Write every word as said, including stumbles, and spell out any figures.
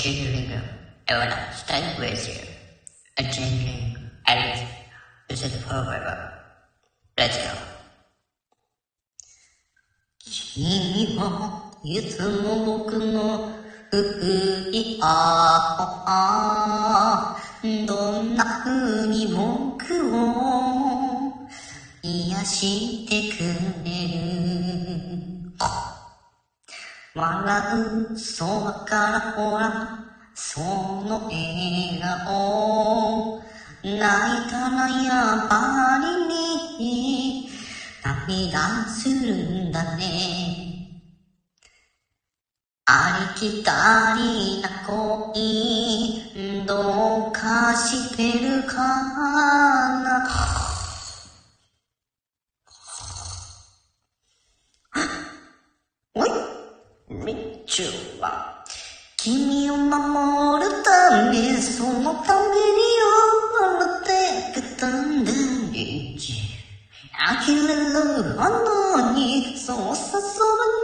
chilling, I wanna stay with you. A changing, Alice, this is forever. Let's go. 君はいつも僕の不意あどんな風に僕を癒してくれる笑う空からほらその笑顔泣いたらやっぱりに涙するんだねありきたりな恋どうかしてるかなおいみちゅは君を守るためそのために生まれてきたんだよ呆れるほどにそうさそば